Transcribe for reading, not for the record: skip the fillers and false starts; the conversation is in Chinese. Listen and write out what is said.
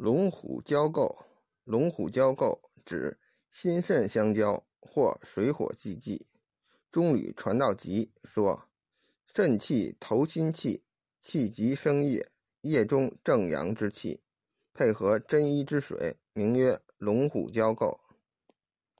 龙虎交构，龙虎交构指心肾相交或水火既济。中吕传道集说，肾气投心气，气急生液，液中正阳之气，配合真一之水，名曰龙虎交构。